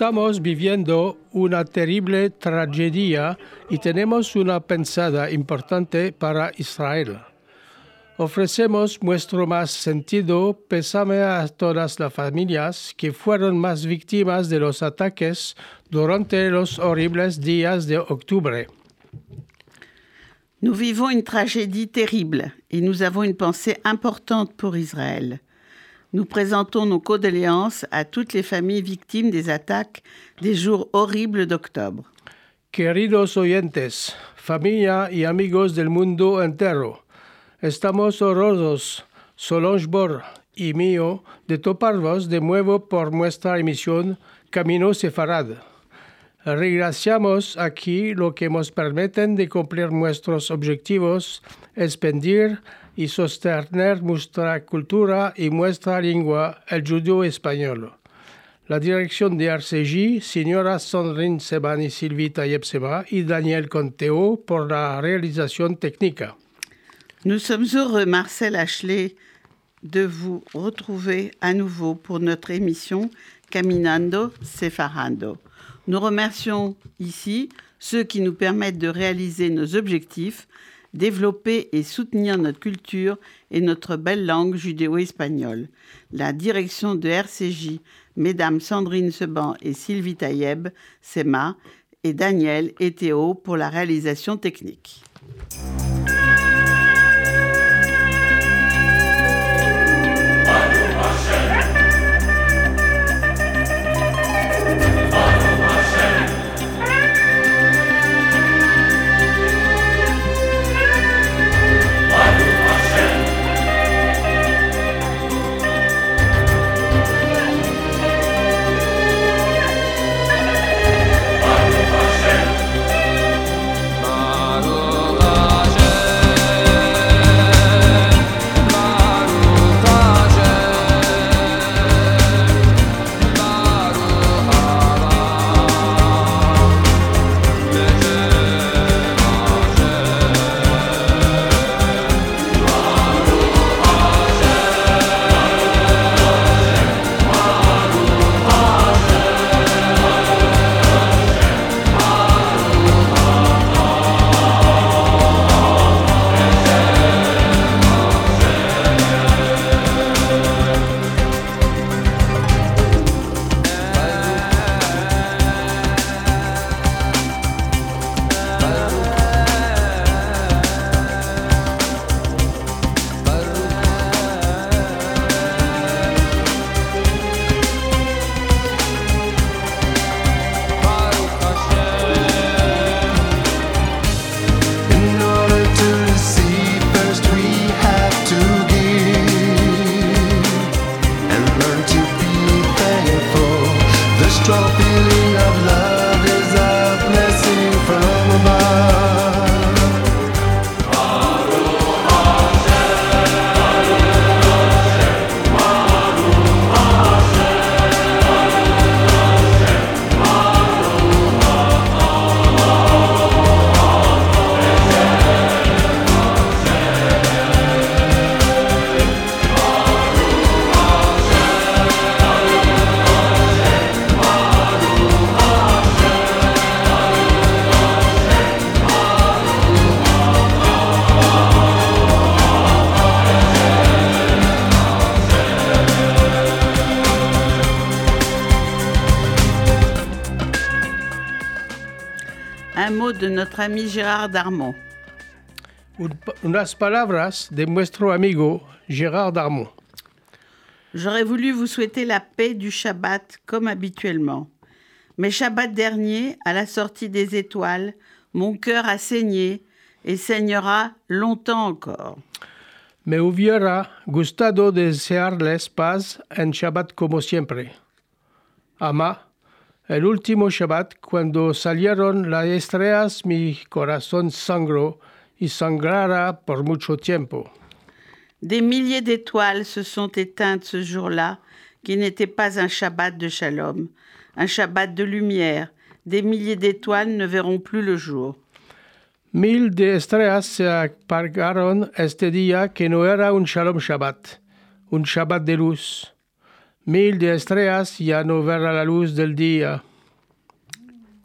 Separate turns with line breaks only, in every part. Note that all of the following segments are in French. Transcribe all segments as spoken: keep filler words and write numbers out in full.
Estamos viviendo una terrible tragedia y tenemos una pensada importante para Israel. Ofrecemos nuestro más sentido pésame a todas las familias que fueron más víctimas de los ataques durante los horribles días de octubre.
Nous vivons une tragédie terrible et nous avons une pensée importante pour Israël. Nous présentons nos condoléances à toutes les familles victimes des attaques des jours horribles d'octobre.
Queridos oyentes, familia y amigos del mundo entero, estamos honrosos, Solange Bor y mío, de toparvos de nuevo por nuestra emisión Camino Sefarad. Regraciamos aquí lo que nos permiten de cumplir nuestros objetivos, expandir y sostener nuestra cultura y nuestra lengua, el judío español. La dirección de R C J, señora Sandrine Seban y Sylvie Tayeb-Sema y Daniel Conteo por la réalisation technique.
Nous sommes heureux, Marcel Ashley, de vous retrouver à nouveau pour notre émission Caminando Sefarando. Nous remercions ici ceux qui nous permettent de réaliser nos objectifs, développer et soutenir notre culture et notre belle langue judéo-espagnole. La direction de R C J, Mesdames Sandrine Seban et Sylvie Tayeb, Sema, et Daniel et Théo pour la réalisation technique. Un mot de notre ami Gérard Darmon.
Unas palabras de nuestro amigo Gérard Darmon.
J'aurais voulu vous souhaiter la paix du Shabbat comme habituellement. Mais Shabbat dernier, à la sortie des étoiles, mon cœur a saigné et saignera longtemps encore.
Me hubiera gustado desearles paz en Shabbat como siempre. Ama, el último Shabbat, cuando salieron las estrellas, mi corazón sangró y sangrará por mucho tiempo.
Des milliers d'étoiles se sont éteintes ce jour-là, qui n'était pas un Shabbat de Shalom, un Shabbat de lumière. Des milliers d'étoiles ne verront plus le jour.
Mil de estrellas se apagaron este día que no era un Shalom Shabbat, un Shabbat de luz. Mil de estrellas ya no verán la luz del día.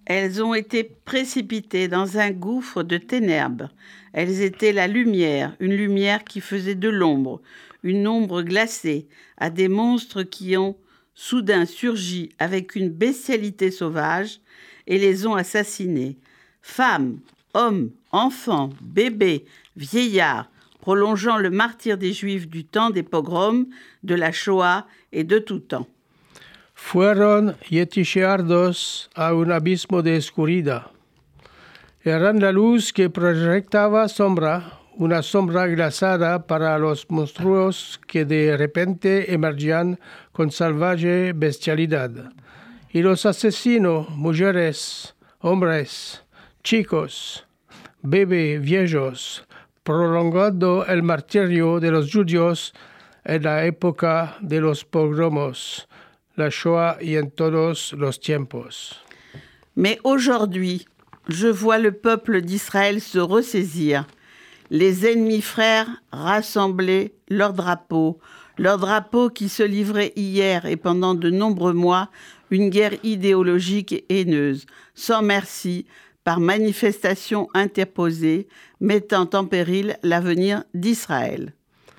Elles ont été précipitées dans un gouffre de ténèbres. Elles étaient la lumière, une lumière qui faisait de l'ombre, une ombre glacée, à des monstres qui ont soudain surgi avec une bestialité sauvage et les ont assassinés. Femmes, hommes, enfants, bébés, vieillards, prolongeant le martyre des Juifs du temps des pogroms, de la Shoah et de tout temps.
Fueron yeticheados a un abismo de oscuridad. Eran la luz que proyectaba sombra, una sombra glazada para los monstruos que de repente emergían con salvaje bestialidad. Y los asesinos, mujeres, hombres, chicos, bebés, viejos, prolongando el martirio de los judíos en la época de los pogromos, la Shoah y en todos los tiempos.
Mais aujourd'hui, je vois le peuple d'Israël se ressaisir, les ennemis frères rassembler leurs drapeaux, leurs drapeaux qui se livraient hier et pendant de nombreux mois une guerre idéologique et haineuse, sans merci, par manifestation interposée, mettant en péril l'avenir d'Israël.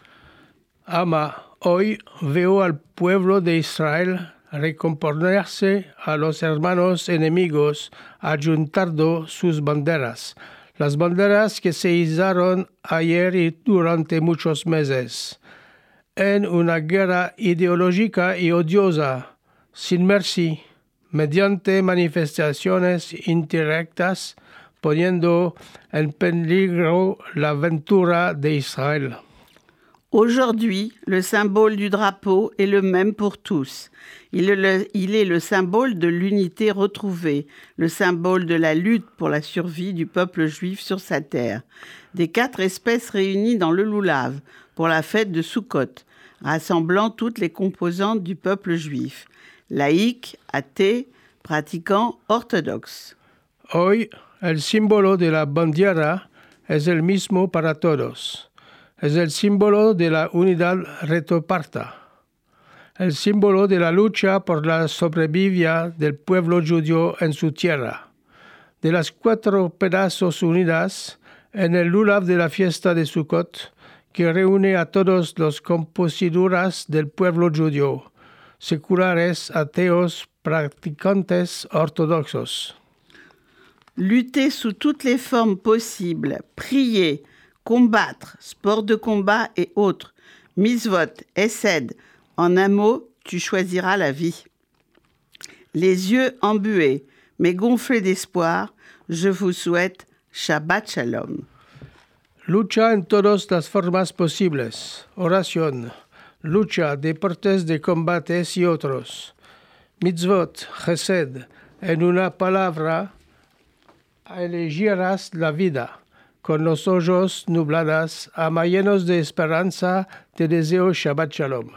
Ama, hoy veo al pueblo de Israel recomponerse a los hermanos enemigos, ayuntando sus banderas, las banderas que se izaron ayer y durante muchos meses, en una guerra ideológica y odiosa, sin merci, mediante manifestaciones indirectas, poniendo en peligro la ventura de Israël.
Aujourd'hui, le symbole du drapeau est le même pour tous. Il est le, il est le symbole de l'unité retrouvée, le symbole de la lutte pour la survie du peuple juif sur sa terre. Des quatre espèces réunies dans le Loulav pour la fête de Sukkot, rassemblant toutes les composantes du peuple juif, laïcs, athées, pratiquants, orthodoxes.
Hoy, el símbolo de la bandera es el mismo para todos. Es el símbolo de la unidad retroparta, el símbolo de la lucha por la sobrevivencia del pueblo judío en su tierra. De las cuatro pedazos unidas en el lulav de la fiesta de Sukkot, que reúne a todos los composituras del pueblo judío, seculares, ateos, praticantes, orthodoxos.
Lutter sous toutes les formes possibles, prier, combattre, sport de combat et autres, mitzvot, hesed, en un mot, tu choisiras la vie. Les yeux embués, mais gonflés d'espoir, je vous souhaite Shabbat Shalom.
Lucha en todas las formas posibles, oración, lucha, deportes de combates y otros, mitzvot, hesed, en una palabra, elegirás la vida. Con los ojos nublados, ama llenos de esperanza, te deseo Shabbat Shalom.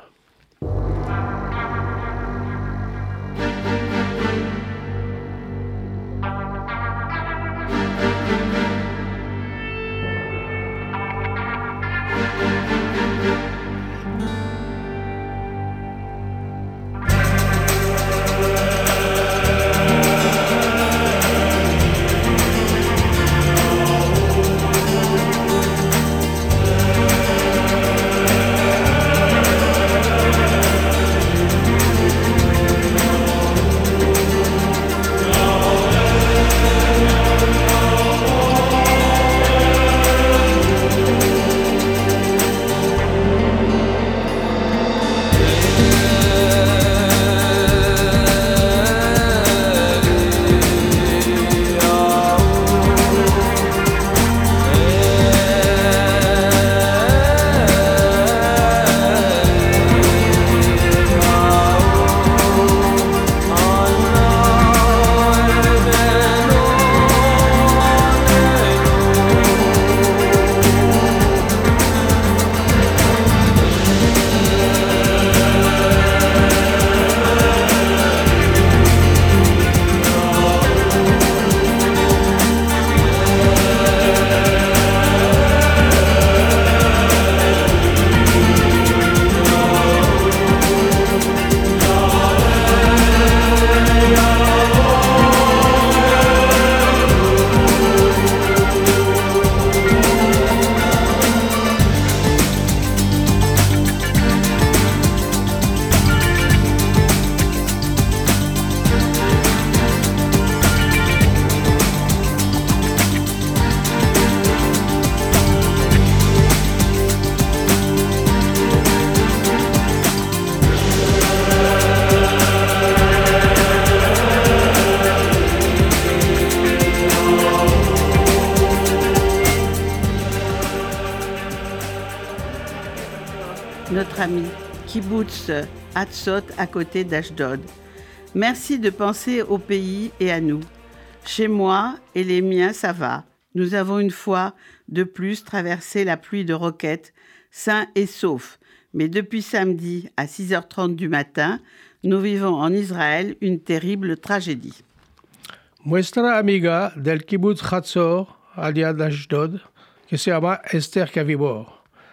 notre ami Kibbutz Hatzot à côté d'Ashdod. Merci de penser au pays et à nous. Chez moi et les miens, ça va. Nous avons une fois de plus traversé la pluie de roquettes, sains et saufs. Mais depuis samedi à six heures trente du matin, nous vivons en Israël une terrible tragédie.
Nuestra amiga del kibbutz Hatzor, allá de Ashdod, que se llama Esther Cavibor.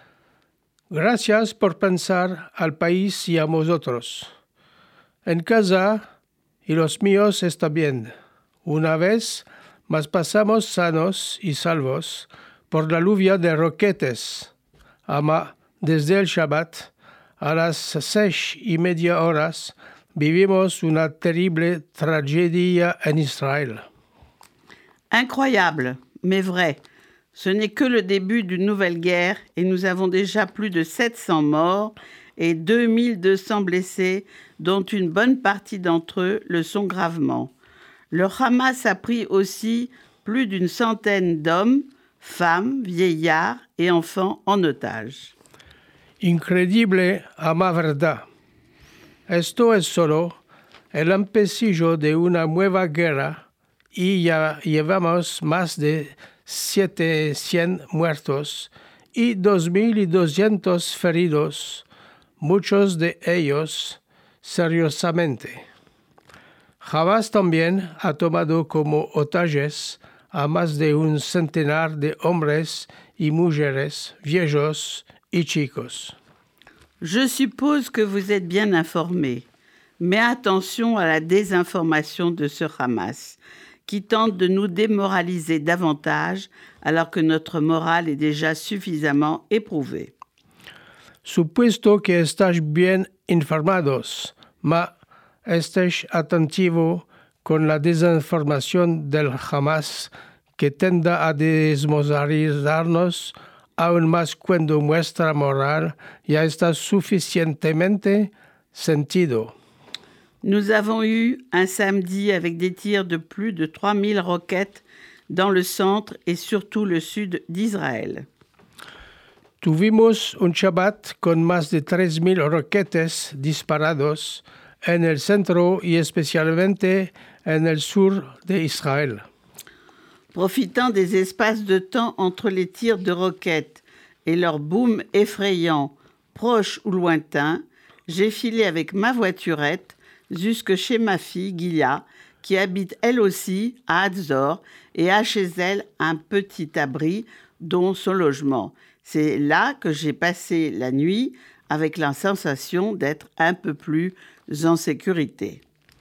Gracias por pensar al país y a vosotros. En casa y los míos está bien. Una vez más pasamos sanos y salvos por la lluvia de roquetes. Ama, desde el Shabbat a las seis y media horas vivimos una terrible tragedia en Israël.
Incroyable, mais vrai. Ce n'est que le début d'une nouvelle guerre et nous avons déjà plus de sept cents morts et deux mille deux cents blessés, dont une bonne partie d'entre eux le sont gravement. Le Hamas a pris aussi plus d'une centaine d'hommes, femmes, vieillards et enfants en otage.
Increíble a ma verdad. Esto es solo el empecillo de una nueva guerra y ya llevamos más de setecientos muertos y dos mil doscientos feridos, muchos de ellos seriosamente. Hamas también ha tomado como otages a más de un centenar de hombres y mujeres, viejos y chicos.
Je suppose que vous êtes bien informés, mais attention à la désinformation de ce Hamas, qui tente de nous démoraliser davantage alors que notre morale est déjà suffisamment éprouvée.
Supuesto que estáis bien informados, ma estéis atentivo con la desinformación del Hamas que tenda a desmoralizarnos aún más cuando nuestra moral ya está suficientemente sentido.
Nous avons eu un samedi avec des tirs de plus de trois mille roquettes dans le centre et surtout le sud d'Israël.
Tuvimos un Shabbat con más de tres mil roquetes disparados en el centro y especialmente en el sur de Israël.
Profitant des espaces de temps entre les tirs de roquettes et leur boom effrayant, proche ou lointain, j'ai filé avec ma voiturette jusque chez ma fille, Gilia, qui habite elle aussi à Hatzor et a chez elle un petit abri, dont son logement. C'est là que j'ai passé la nuit avec la sensation d'être un peu plus en sécurité.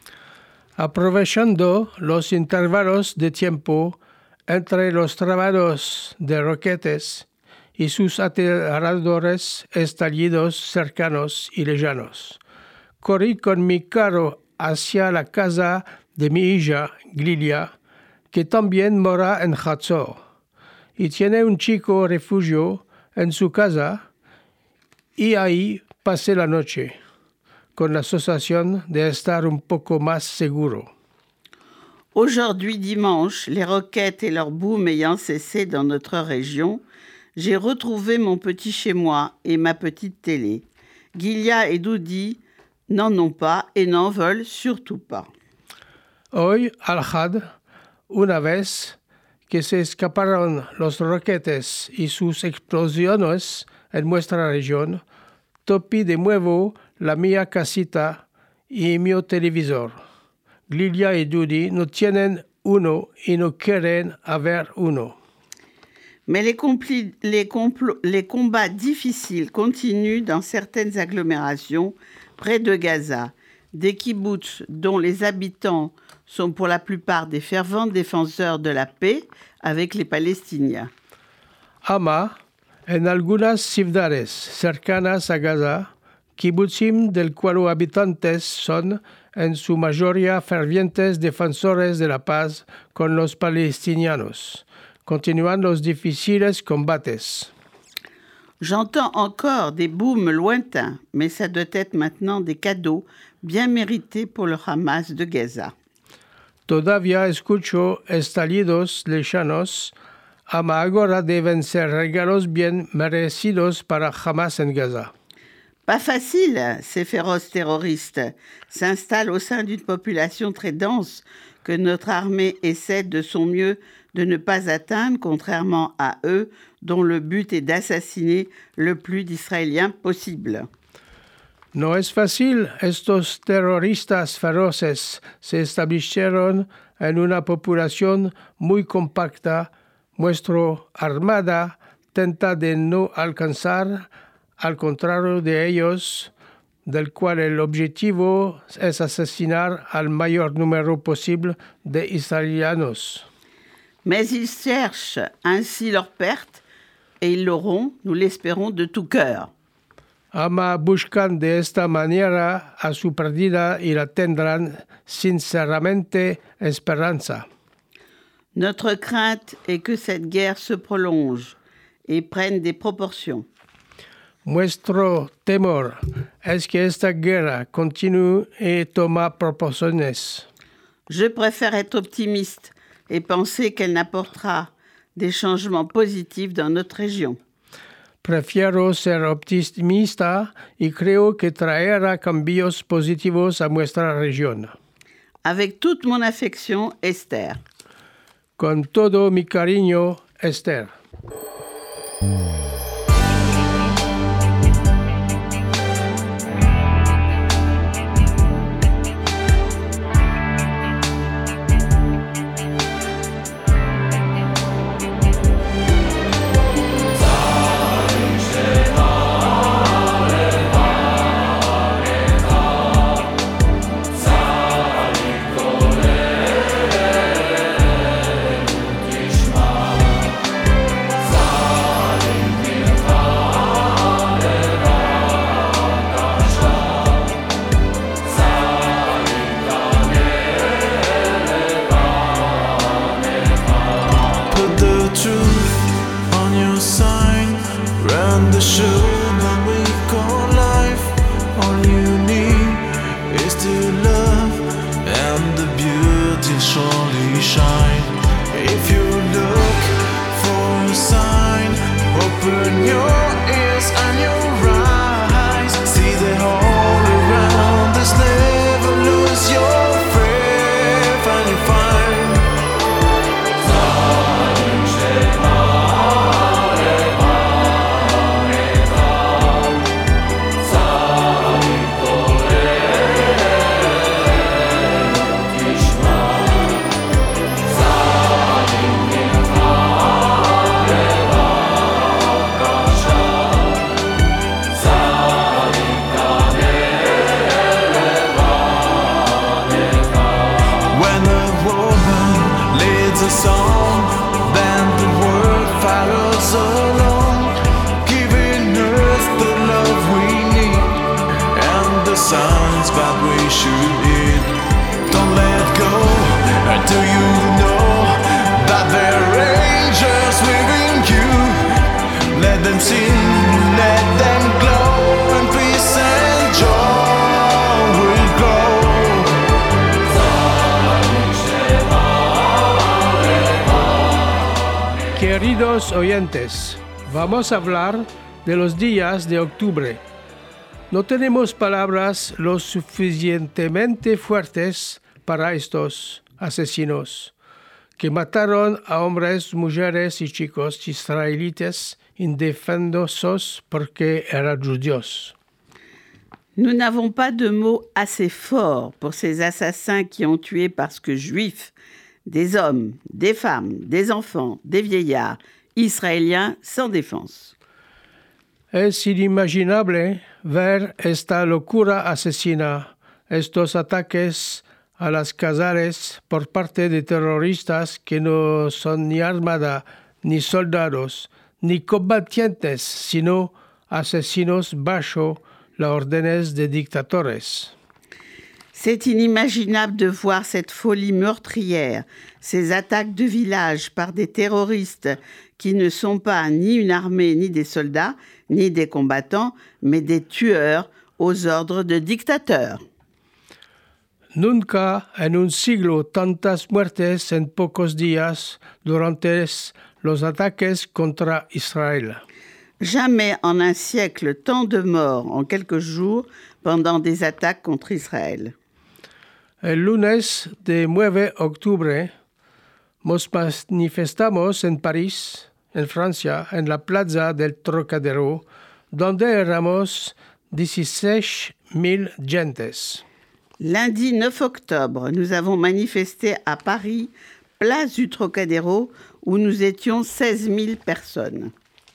Aprovechando los intervalos de tiempo entre los trabajos de roquetes y sus aterradores estallidos cercanos y lejanos, corrí con mi carro hacia la casa de mi hija, Glilia, que también mora en Hatzor, y tiene un chico refugio en su casa, y ahí pasé la noche, con la sensación de estar un poco más seguro.
Aujourd'hui dimanche, les roquettes et leur boom ayant cessé dans notre région, j'ai retrouvé mon petit chez-moi et ma petite télé. Gilia et Doudi n'en ont pas et n'en veulent surtout pas.
Hoy, al Had, una vez que se escaparon los roquetes y sus explosiones en nuestra región, topí de nuevo la mía casita y mi televisor. Lilia y Doudi no tienen uno y no quieren haber uno.
Mais les, compli- les, compl- les combats difficiles continuent dans certaines agglomérations près de Gaza, des kibbutz dont les habitants sont pour la plupart des fervents défenseurs de la paix avec les Palestiniens.
Ama, en algunas ciudades cercanas a Gaza, kibbutzim del cual habitantes son en su mayoría fervientes defensores de la paz con los palestinianos. Continúan los difíciles combates.
J'entends encore des booms lointains, mais ça doit être maintenant des cadeaux bien mérités pour le Hamas de Gaza.
Todavía escucho estallidos lejanos, ama ahora deben ser regalos bien merecidos para Hamas en Gaza.
Pas facile, ces féroces terroristes s'installent au sein d'une population très dense que notre armée essaie de son mieux de ne pas atteindre, contrairement à eux, dont le but est d'assassiner le plus d'Israéliens possible.
No es fácil. Estos terroristas feroces se establecieron en una población muy compacta. Nuestra armada tenta de no alcanzar, al contrario de ellos, del cual el objetivo es asesinar al mayor número posible de israélianos.
Mais ils cherchent ainsi leur perte, et ils l'auront, nous l'espérons de tout cœur.
Ama buscan de esta manera a su pérdida y la tendrán sinceramente esperanza.
Notre crainte est que cette guerre se prolonge et prenne des proportions.
Nuestro temor es que esta guerra continúe y toma proporciones.
Je préfère être optimiste et penser qu'elle n'apportera des changements positifs dans notre région.
Prefiero ser optimista y creo que traerá cambios positivos a nuestra región.
Avec toute mon affection, Esther.
Con todo mi cariño, Esther. Queridos oyentes, vamos a hablar de los días de octubre. No tenemos palabras lo suficientemente fuertes para estos asesinos que mataron a hombres, mujeres y chicos israelitas indefensos porque eran judíos.
Nous n'avons pas de mots assez forts pour ces assassins qui ont tué parce que juifs, des hommes, des femmes, des enfants, des vieillards, israéliens sans défense.
Es inimaginable ver esta locura asesina, estos ataques a las casas por parte de terroristas que no son ni armada, ni soldados, ni combatientes, sino asesinos bajo las órdenes de dictadores.
C'est inimaginable de voir cette folie meurtrière, ces attaques de villages par des terroristes qui ne sont pas ni une armée, ni des soldats, ni des combattants, mais des tueurs aux ordres de dictateurs.
Nunca en un siglo tantas muertes en pocos días durante los ataques contra Israel.
Jamais en un siècle tant de morts en quelques jours pendant des attaques contre Israël.
El lunes de nueve de octubre nos manifestamos en París, en Francia, en la plaza del Trocadero, donde éramos dieciséis mil gentes.
Lundi neuf octobre, nous avons manifesté à Paris, place du Trocadéro, où nous étions seize mille personnes.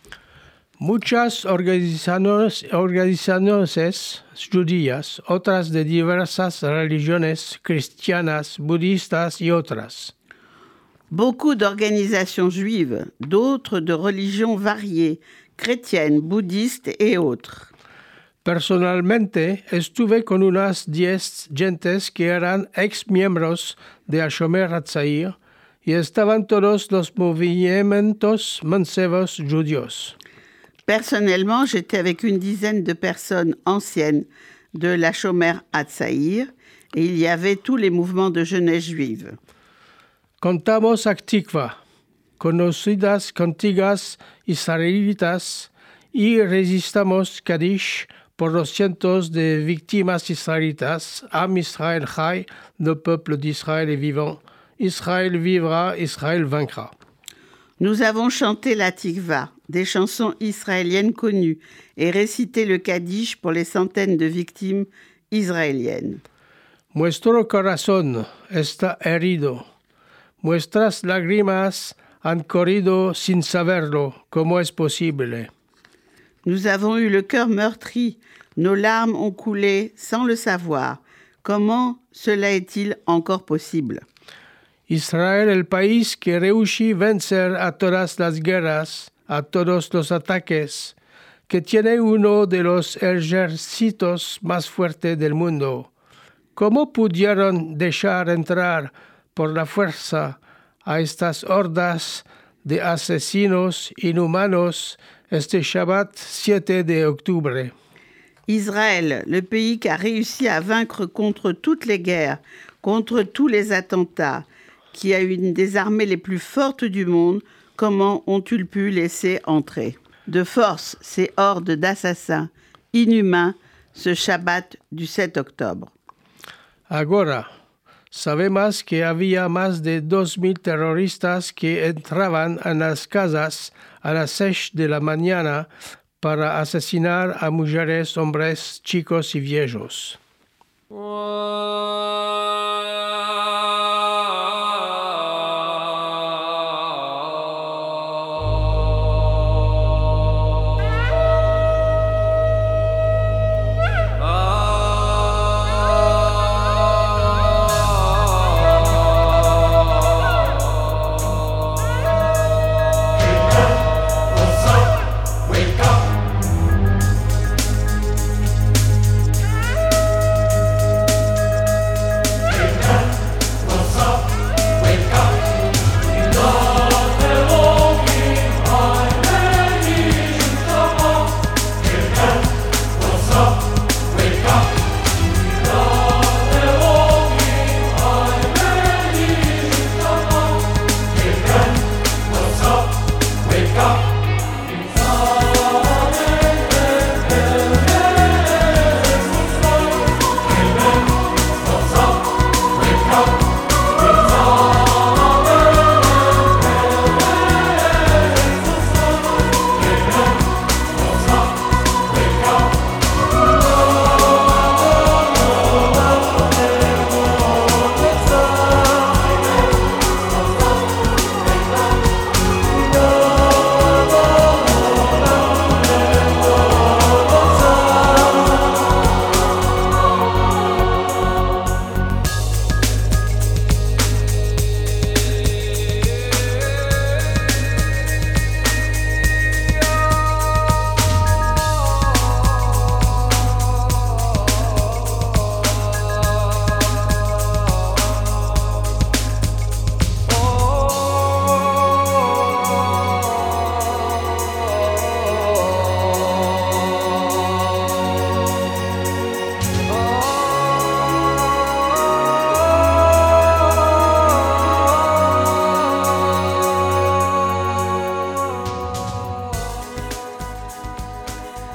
Muchas organizaciones, organizaciones judías, otras de diversas religiones cristianas, budistas y otras.
Beaucoup d'organisations juives, d'autres de religions variées, chrétiennes, bouddhistes et autres.
Personalmente estuve con unas diez gentes que eran ex-miembros de Hashomer Hatzair y estaban todos los movimientos mancebos judíos.
Personnellement, j'étais avec une dizaine de personnes anciennes de la Shomer Hatzair et il y avait tous les mouvements de jeunesse juive.
Contamos Actikva, conocidas cantigas israelitas y resistamos Kaddish por los cientos de víctimas israélitas. Am Israël Chai, le peuple d'Israël est vivant. Israël vivra, Israël vaincra.
Nous avons chanté la Tikva, des chansons israéliennes connues, et récité le Kaddish pour les centaines de victimes israéliennes.
Nuestro corazón está herido. Nuestras lágrimas han corrido sin saberlo. ¿Cómo es posible?
Nous avons eu le cœur meurtri, nos larmes ont coulé sans le savoir. Comment cela est-il encore possible?
Israel, el país que rehusó vencer a todas las guerras, a todos los ataques, que tiene uno de los ejércitos más fuertes del mundo. ¿Cómo pudieron dejar entrar por la fuerza a estas hordas de asesinos inhumanos este Shabbat siete de octubre?
Israël, le pays qui a réussi à vaincre contre toutes les guerres, contre tous les attentats, qui a une des armées les plus fortes du monde, comment ont-ils pu laisser entrer de force ces hordes d'assassins inhumains ce Shabbat du sept octobre?
Agora, sabemos que había más de dos mil terroristas que entraban en las casas a las seis de la mañana para asesinar a mujeres, hombres, chicos y viejos.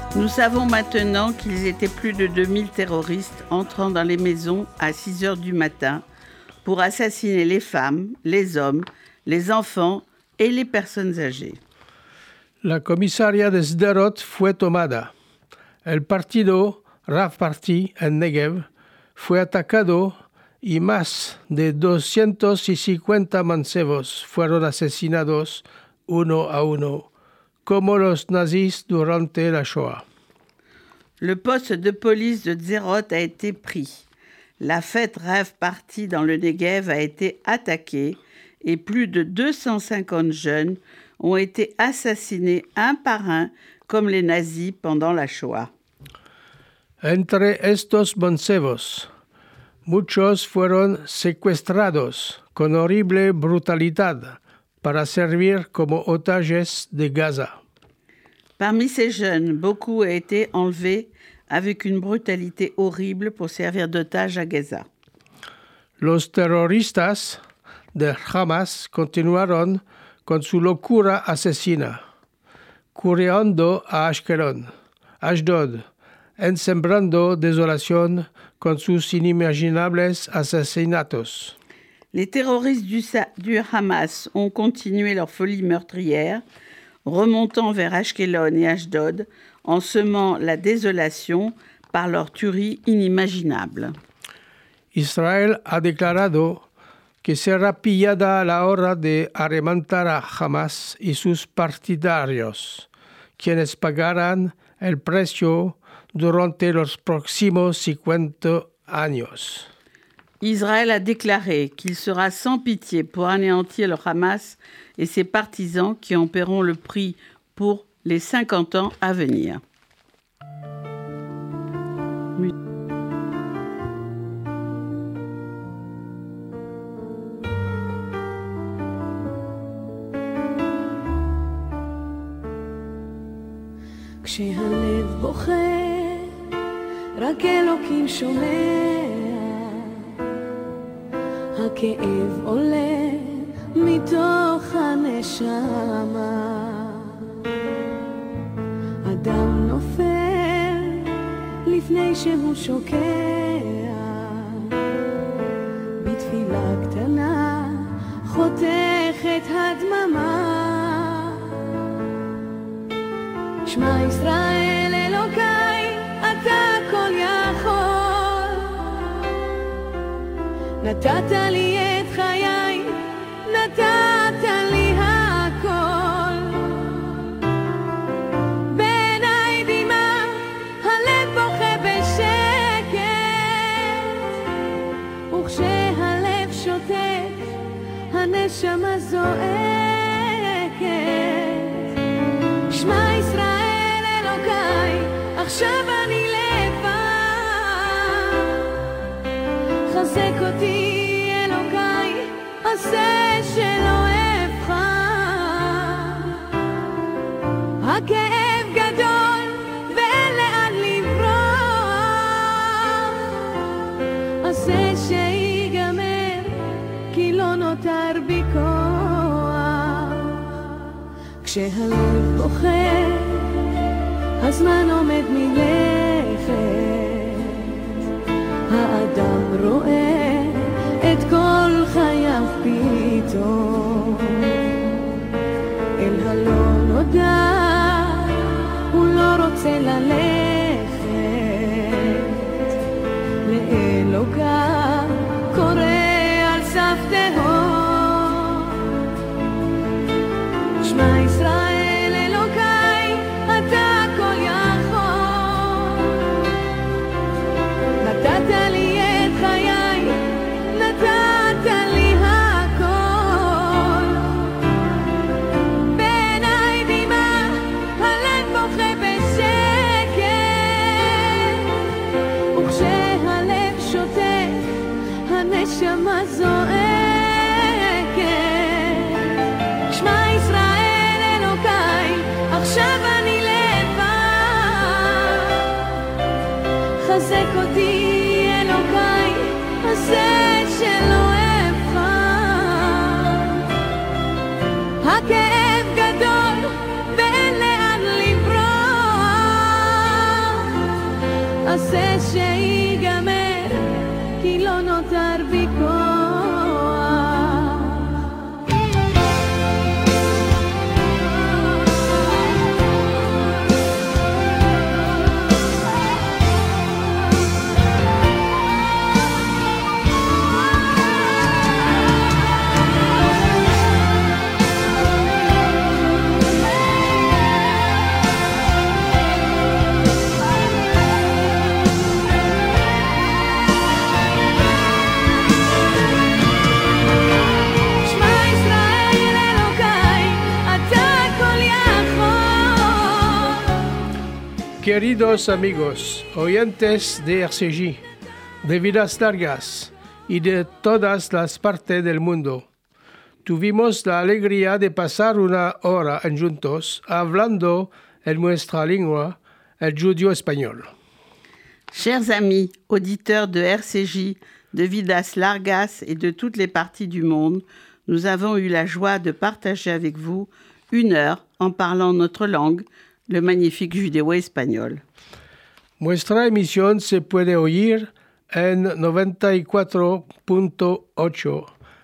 Nous savons maintenant qu'ils étaient plus de deux mille terroristes entrant dans les maisons à six heures du matin pour assassiner les femmes, les hommes, les enfants et les personnes âgées.
La comisaría de Sderot fue tomada. El partido Rav Party en Negev fue atacado y más de doscientos cincuenta mancebos fueron asesinados uno a uno, como los nazis durante la Shoah.
Le poste de police de Sderot a été pris. La fête Rav Party dans le Negev a été attaquée et plus de deux cent cinquante jeunes ont été assassinés un par un comme les nazis pendant la Shoah.
Entre estos mancebos, muchos fueron secuestrados con horrible brutalidad para servir como otages de Gaza.
Parmi ces jeunes, beaucoup ont été enlevés avec une brutalité horrible pour servir d'otages à Gaza.
Los terroristas de Hamas continuaron con su locura asesina, corriendo a Ashkelon, Ashdod, ensembrando desolación con sus inimaginables asesinatos.
Les terroristes du, du Hamas ont continué leur folie meurtrière, remontant vers Ashkelon et Ashdod, en semant la désolation par leur tuerie inimaginable.
Israel ha declarado que será pillada la hora de arremantar a Hamas y sus partidarios, quienes pagarán el precio durante los próximos cincuenta años.
Israël a déclaré qu'il sera sans pitié pour anéantir le Hamas et ses partisans qui en paieront le prix pour les cinquante ans à venir.
כשהלב בוכה, רק אלוקים שומע, הכאב עולה מתוך הנשמה, אדם נופל לפני שהוא שוקע, בתפילה קטנה חותכת הדממה, שמע ישראל אלוקיי, אתה כל יכול, נתת לי את חיי, נתת לי הכל, בעיניי דמעה, הלב בוכה בשקט, וכשהלב שותק, הנשמה זועקת, שמע ישראל אלוקיי, עכשיו אני לבד, חזק אותי אלוקיי, עשה שלא אבחר, הכאב גדול ואין לאן לברוח, עשה שיגמר כי לא נותר בי כוח, כשהלב בוכה הזמן עומד מלכת, האדם רואה את כל חייו פתאום, אל הלא נודע הוא לא רוצה ללכת, לאלוקיו קורא על סף תהום, שמע ישראל אלוקיי, אתה כל יכול, נתת לי את חיי, נתת לי הכל, בעיניי דמעה, הלב בוכה בשקט, וכשהלב שותק, הנשמה זועקת, שמע ישראל אלוקיי, עכשיו אני לבד, חזק אותי אלוקיי, עשה שלא אבחר, הכאב גדול ואין לאן לברוח, רוצה שיגמר, כי לא נותר בי כוח.
Queridos amigos, oyentes de R C J, de Vidas Largas y de todas las partes del mundo, tuvimos la alegría de pasar una hora juntos hablando en nuestra lengua, el judío español.
Chers amis, auditeurs de R C J, de Vidas Largas et de toutes les parties du monde, nous avons eu la joie de partager avec vous une heure en parlant notre langue, le magnifique judéo-espagnol.
Nuestra emisión se puede oír en noventa y cuatro punto ocho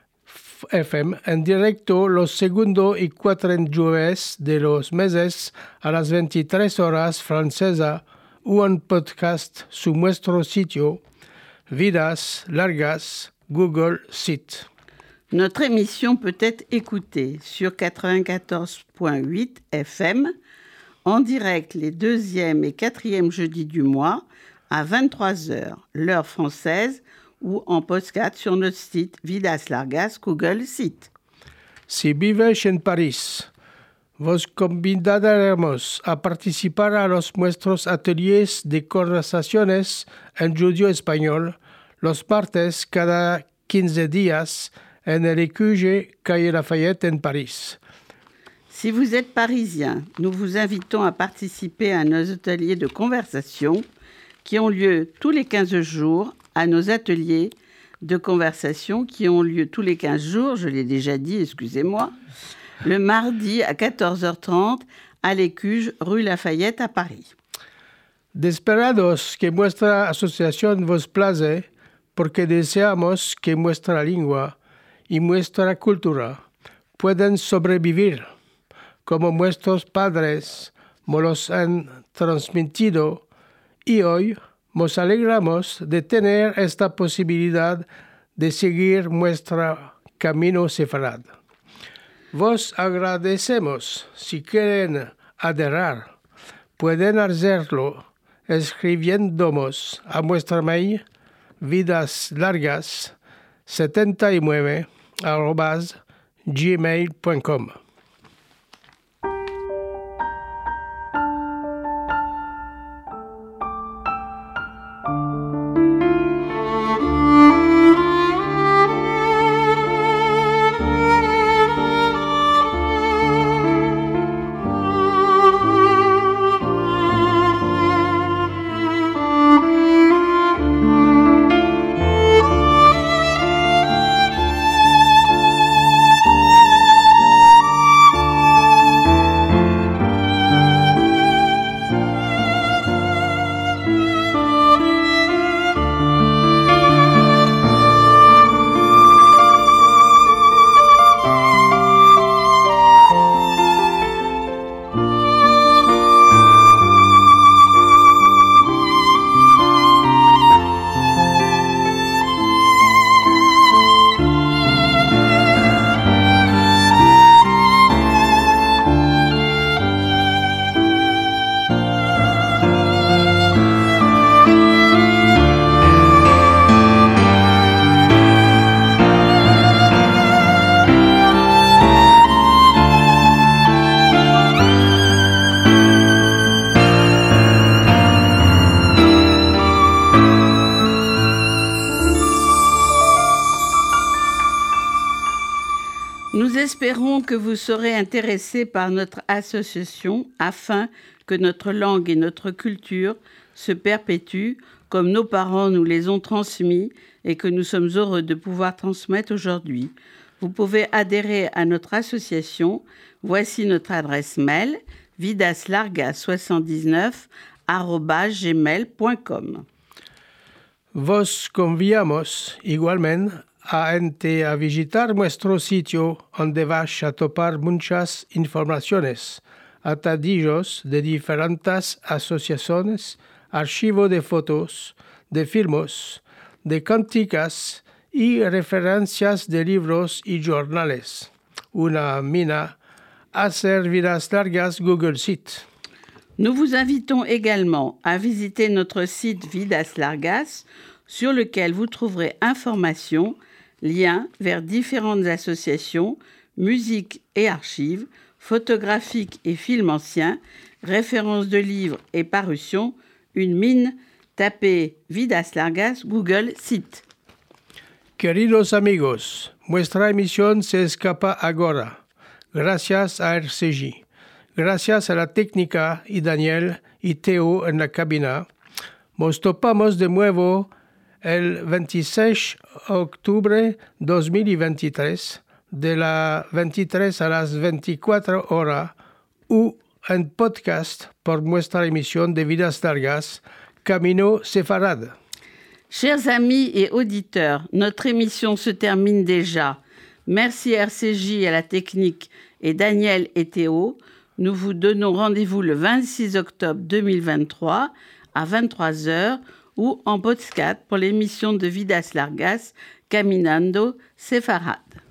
F M en directo los segundos y cuatro jueves de los meses a las veintitrés horas francesa o en podcast su nuestro sitio Vidas Largas Google Site.
Notre émission peut être écoutée sur quatre-vingt-quatorze point huit F M en direct les deuxième et quatrième jeudis du mois à vingt-trois heures, l'heure française, ou en podcast sur notre site Vidas Largas Google Site.
Si vives en París, vos convidaremos a participar a los nuestros ateliers de conversaciones en judío español los martes cada quinze días en el Écuyer, calle Lafayette en Paris.
Si vous êtes parisien, nous vous invitons à participer à nos ateliers de conversation qui ont lieu tous les quinze jours, à nos ateliers de conversation qui ont lieu tous les quinze jours, je l'ai déjà dit, excusez-moi, le mardi à quatorze heures trente à l'Écuge, rue Lafayette à Paris.
Desperados que nuestra asociación vos place, porque deseamos que nuestra lengua y nuestra cultura puedan sobrevivir como nuestros padres nos los han transmitido, y hoy nos alegramos de tener esta posibilidad de seguir nuestro camino sefarad. Vos agradecemos. Si quieren adherir, pueden hacerlo escribiéndonos a nuestra mail vidaslargas setenta y nueve arroba gmail punto com.
Nous espérons que vous serez intéressés par notre association afin que notre langue et notre culture se perpétuent comme nos parents nous les ont transmis et que nous sommes heureux de pouvoir transmettre aujourd'hui. Vous pouvez adhérer à notre association. Voici notre adresse mail vidaslargas soixante-dix-neuf arobase gmail point com.
Vos conviamos igualmente a ente a visitar nuestro sitio donde vas a topar muchas informaciones, atadillos de diferentes asociaciones, archivo de fotos, de filmes, de canticas y referencias de libros y jornales. Una mina hacer vidas largas Google Sites.
Nous vous invitons également à visiter notre site Vidas Largas, sur lequel vous trouverez informations, liens vers différentes associations, musique et archives, photographiques et films anciens, références de livres et parutions, une mine, tapez Vidas Largas Google Site.
Queridos amigos, nuestra emisión se escapa ahora, gracias a R C J. Gracias a la técnica y Daniel y Teo en la cabina, nos topamos de nuevo el veintiséis de octubre de dos mil veintitrés, de las veintitrés a las veinticuatro horas, o en podcast por nuestra emisión de Vidas Largas, Camino Sefarad.
Chers amis et auditeurs, notre émission se termine déjà. Merci R C J à la technique et Daniel et Théo. Nous vous donnons rendez-vous le vingt-six octobre deux mille vingt-trois à vingt-trois heures ou en podcast pour l'émission de Vidas Largas, Caminando Sefarad.